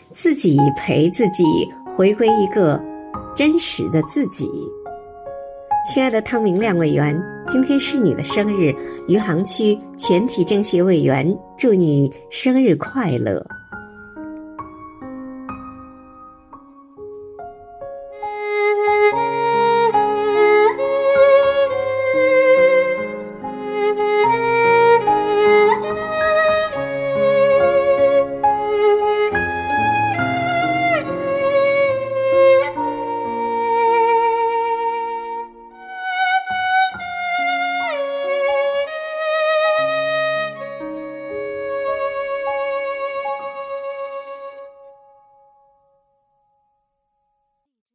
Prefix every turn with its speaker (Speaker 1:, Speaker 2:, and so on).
Speaker 1: 自己陪自己，回归一个真实的自己。亲爱的汤明亮委员，今天是你的生日，余杭区全体政协委员祝你生日快乐。